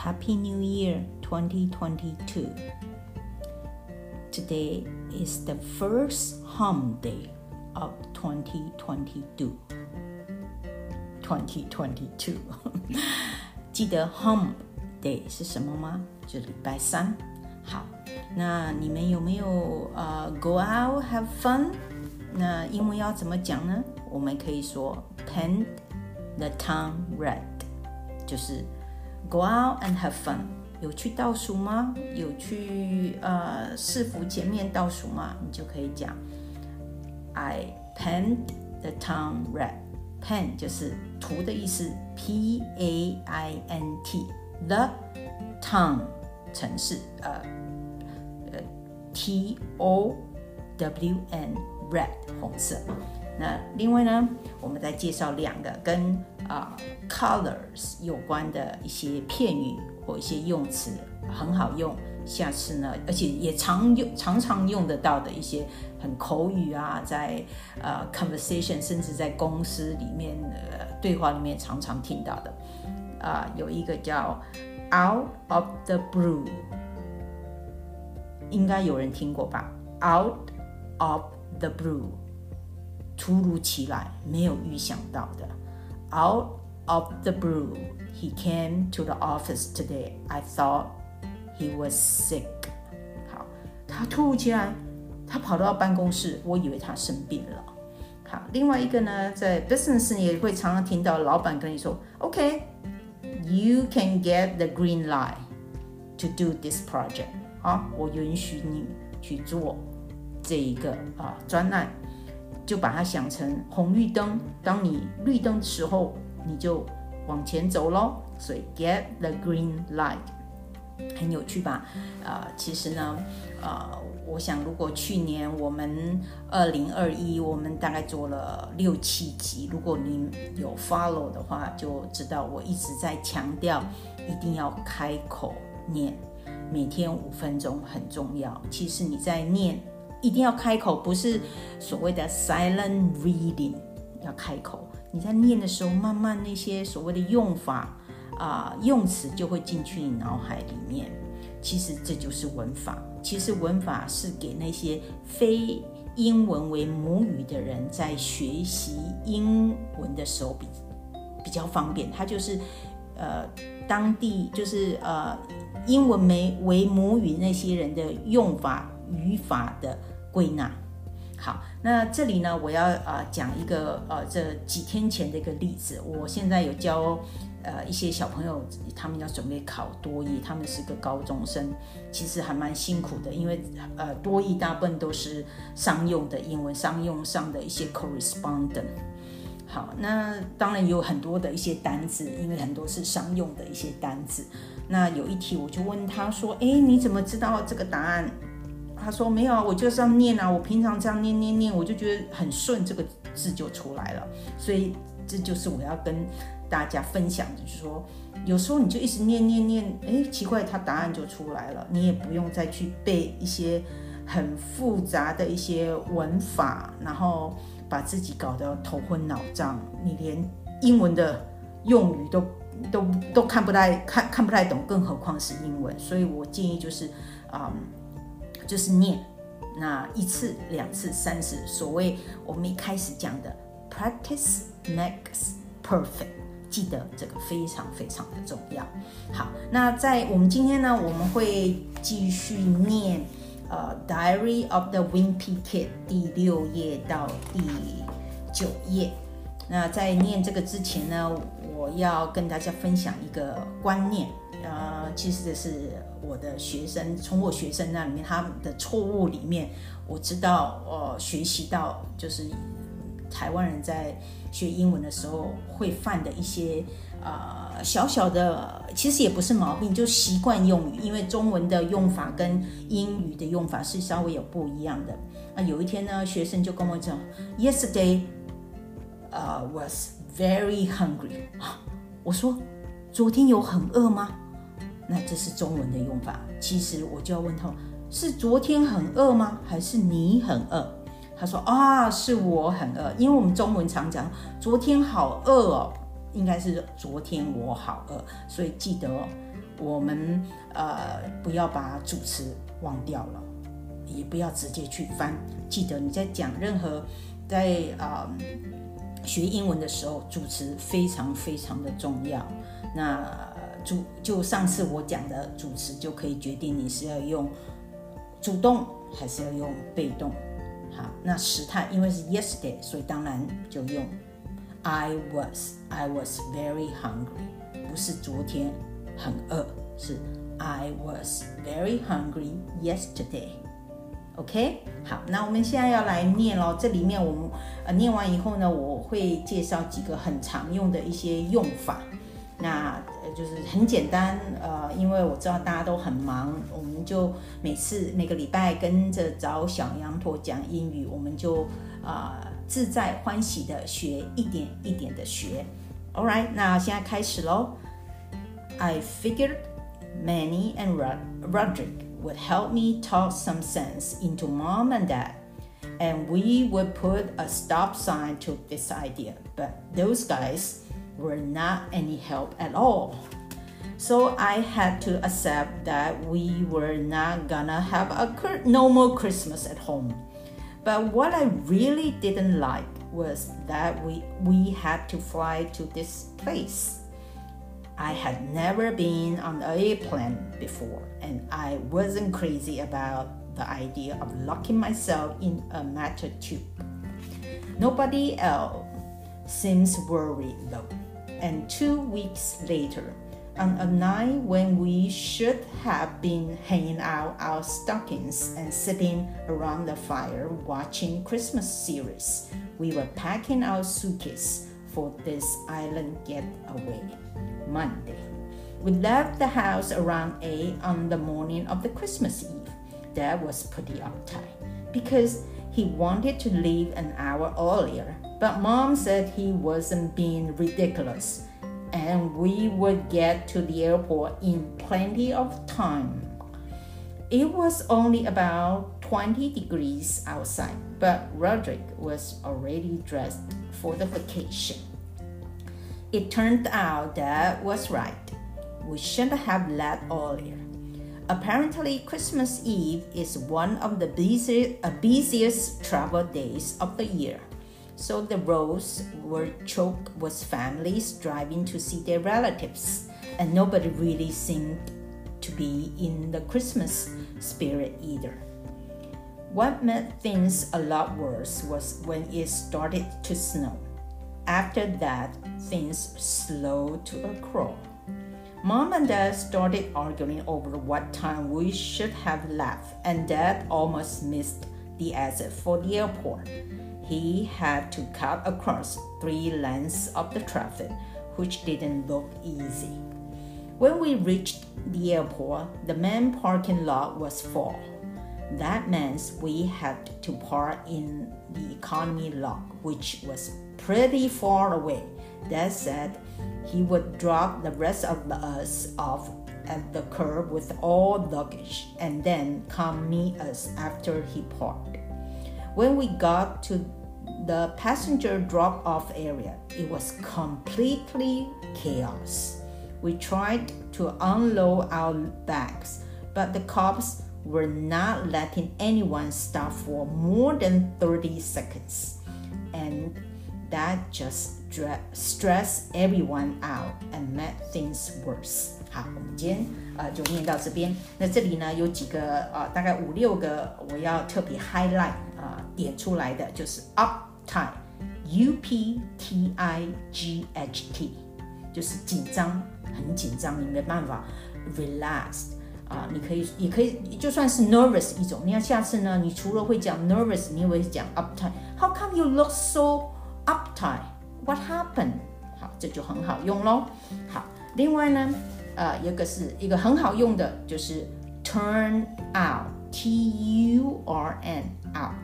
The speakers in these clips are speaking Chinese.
Happy New Year 2022. Today is the first home day of 2022. 2022 记得 home day 是什么吗？就是礼拜三。好，那你们有没有go out have fun？ 那英文要怎么讲呢？我们可以说 paint the town red， 就是Go out and have fun。 有去倒数吗？有去市府前面倒数吗？你就可以讲 I paint the town red。 Paint 就是涂的意思， P-A-I-N-T。 The town 城市T-O-W-N red 红色。那另外呢，我们再介绍两个跟colors 有关的一些片语或一些用词，很好用。下次呢，而且也常用得到的一些很口语啊，在conversation 甚至在公司里面对话里面常常听到的有一个叫 out of the blue， 应该有人听过吧？ out of the blue， 突如其来，没有预想到的。 Out of the blue, he came to the office today. I thought he was sick. 好，他突如其来，他跑到办公室，我以为他生病了。好，另外一个呢，在 business 也会常常听到老板跟你说 OK, you can get the green light to do this project. 好，我允许你去做这一个专案，就把它想成红绿灯，当你绿灯的时候你就往前走咯，所以 get the green light 很有趣吧？其实呢我想如果去年我们2021我们大概做了6-7集，如果你有 follow 的话就知道我一直在强调一定要开口念，每天5分钟很重要。其实你在念一定要开口，不是所谓的 silent reading， 要开口。你在念的时候，慢慢那些所谓的用法用词就会进去你脑海里面。其实这就是文法。其实文法是给那些非英文为母语的人在学习英文的时候比较方便。它就是当地就是英文为母语那些人的用法语法的归纳。好，那这里呢，我要讲一个这几天前的一个例子。我现在有教一些小朋友，他们要准备考多益，他们是个高中生，其实还蛮辛苦的，因为多益大部分都是商用的英文，商用上的一些 correspondent。好，那当然有很多的一些单字，因为很多是商用的一些单字。那有一题我就问他说，你怎么知道这个答案？他说没有啊，我就是这样念啊，我平常这样念，我就觉得很顺，这个字就出来了。所以这就是我要跟大家分享的，就是说有时候你就一直念，奇怪，它答案就出来了，你也不用再去背一些很复杂的一些文法，然后把自己搞得头昏脑胀，你连英文的用语都看不太懂，更何况是英文。所以我建议就是念，那1次、2次、3次，所谓我们一开始讲的 practice makes perfect， 记得这个非常非常的重要。好，那在我们今天呢，我们会继续念Diary of the Wimpy Kid 第6页到第9页。那在念这个之前呢，我要跟大家分享一个观念。其实这是我的学生，从我学生那里面他们的错误里面，我知道学习到就是台湾人在学英文的时候会犯的一些小小的，其实也不是毛病，就习惯用语，因为中文的用法跟英语的用法是稍微有不一样的。有一天呢，学生就跟我讲 Yesterday was very hungry。 我说昨天有很饿吗？那这是中文的用法。其实我就要问他，是昨天很饿吗？还是你很饿？他说是我很饿。因为我们中文常讲昨天好饿哦， 应该是昨天我好饿，所以记得我们不要把主词忘掉了，也不要直接去翻。记得你在讲任何在学英文的时候，主词非常非常的重要。那就上次我讲的主词就可以决定你是要用主动还是要用被动。好，那时态因为是 yesterday， 所以当然就用 I was very hungry， 不是昨天很饿，是 I was very hungry yesterday。OK， 好，那我们现在要来念咯。这里面我们念完以后呢，我会介绍几个很常用的一些用法。那就是很简单，因为我知道大家都很忙，我们就每个礼拜跟着找小羊驼讲英语，我们就自在欢喜的学，一点一点的学。All right， 那现在开始咯。I figured Manny and Roderick would help me talk some sense into Mom and Dad, and we would put a stop sign to this idea. But those guys were not any help at all. So I had to accept that we were not gonna have a normal Christmas at home. But what I really didn't like was that we had to fly to this place. I had never been on an airplane before, and I wasn't crazy about the idea of locking myself in a metal tube. Nobody else seems worried though. And 2 weeks later, on a night when we should have been hanging out our stockings and sitting around the fire watching Christmas series, we were packing our suitcase for this island getaway. Monday. We left the house around 8 on the morning of the Christmas Eve. Dad was pretty uptight because he wanted to leave an hour earlier, but Mom said he wasn't being ridiculous and we would get to the airport in plenty of time. It was only about 20 degrees outside, but Roderick was already dressed for the vacation. It turned out Dad was right. We should have left earlier. Apparently, Christmas Eve is one of the busiest travel days of the year. So the roads were choked with families driving to see their relatives, and nobody really seemed to be in the Christmas spirit either. What made things a lot worse was when it started to snow. After that, things slowed to a crawl. Mom and Dad started arguing over what time we should have left, and Dad almost missed the exit for the airport. He had to cut across 3 lanes of the traffic, which didn't look easy. When we reached the airport, the main parking lot was full. That meant we had to park in the economy lot, which was pretty far away. Dad said he would drop the rest of us off at the curb with all luggage and then come meet us after he parked. When we got to the passenger drop-off area, it was completely chaos. We tried to unload our bags, but the cops were not letting anyone stop for more than 30 seconds. And that just stressed everyone out and made things worse. 好，我们今天就念到这边。那这里呢有几个大概5、6个我要特别 highlight 点出来的，就是 uptight， uptight， 就是紧张，很紧张，你没办法 relaxed。也可以，就算是 nervous 一种。你看下次呢，你除了会讲 nervous， 你也会讲 uptight。How come you look so uptight? What happened? 好，这就很好用咯。好，另外呢，有一个很好用的，就是 turn out, T-U-R-N out，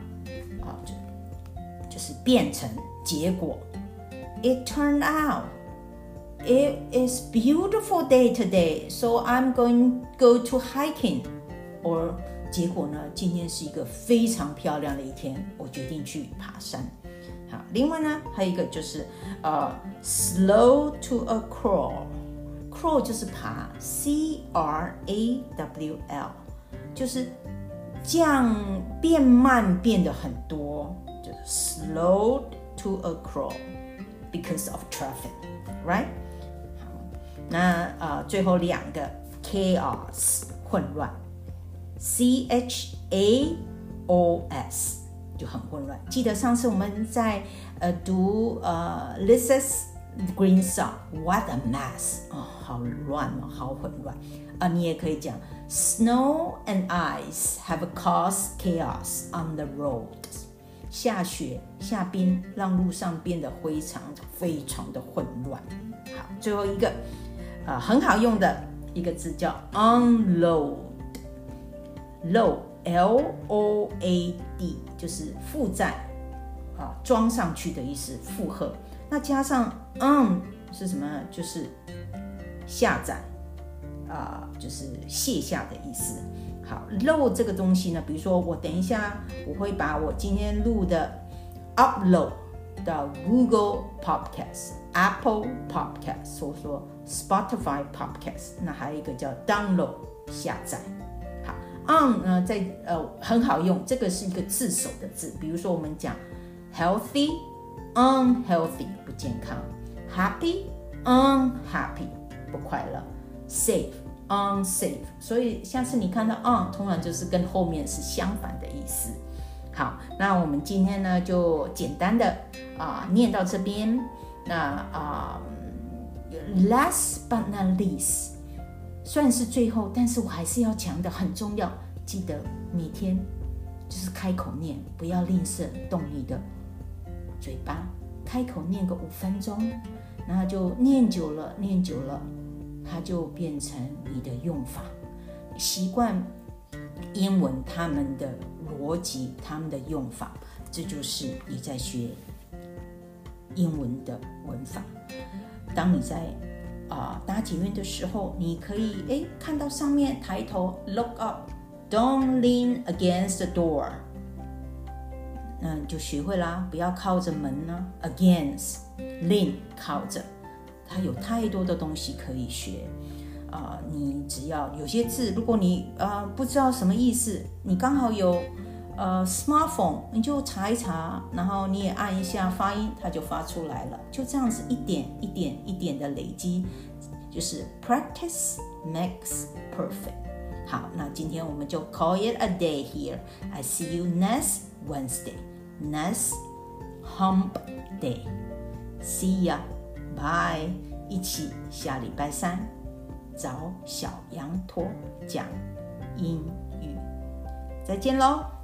就是变成结果。It turned out.It is beautiful day today, so I'm going to go hiking. Or 结果呢，今天是一个非常漂亮的一天，我决定去爬山。 好，另外呢，还有一个就是slow to a crawl 就是爬 crawl 就是变慢变得很多，就是 slow to a crawl because of traffic, right? 好，那最后2个 chaos 混乱 chaos 就很混乱。记得上次我们在读Lisa's Green Song What a mess 好乱好混乱你也可以讲 Snow and ice have caused chaos on the roads 下雪下冰让路上变得非常的混乱。好，最后一个很好用的一个字叫 unload load L-O-A-D 就是负载装上去的意思，负荷。那加上是什么呢？就是下载就是卸下的意思。好 load 这个东西呢，比如说我等一下我会把我今天录的 upload 到 Google Podcast、Apple Podcast 或者说 Spotify Podcast， 那还有一个叫 download 下载。呢很好用，这个是一个字首的字，比如说我们讲 healthy unhealthy 不健康， happy unhappy 不快乐， safe unsafe， 所以下次你看到通常就是跟后面是相反的意思。好，那我们今天呢就简单的念到这边。那last but not least虽然是最后，但是我还是要讲的很重要，记得每天就是开口念，不要吝啬动你的嘴巴，开口念个5分钟，然后就念久了，它就变成你的用法，习惯英文他们的逻辑，他们的用法，这就是你在学英文的文法。当你在搭捷运的时候，你可以看到上面抬头 look up don't lean against the door， 那你就学会啦，不要靠着门啦 against lean 靠着，它有太多的东西可以学你只要有些字如果你不知道什么意思，你刚好有smartphone 你就查一查，然后你也按一下发音，它就发出来了，就这样子一点一点的累积，就是 practice makes perfect。 好，那今天我们就 call it a day here. I see you next Wednesday, next hump day. See ya, bye. 一起下礼拜3找小羊驼讲英语，再见咯。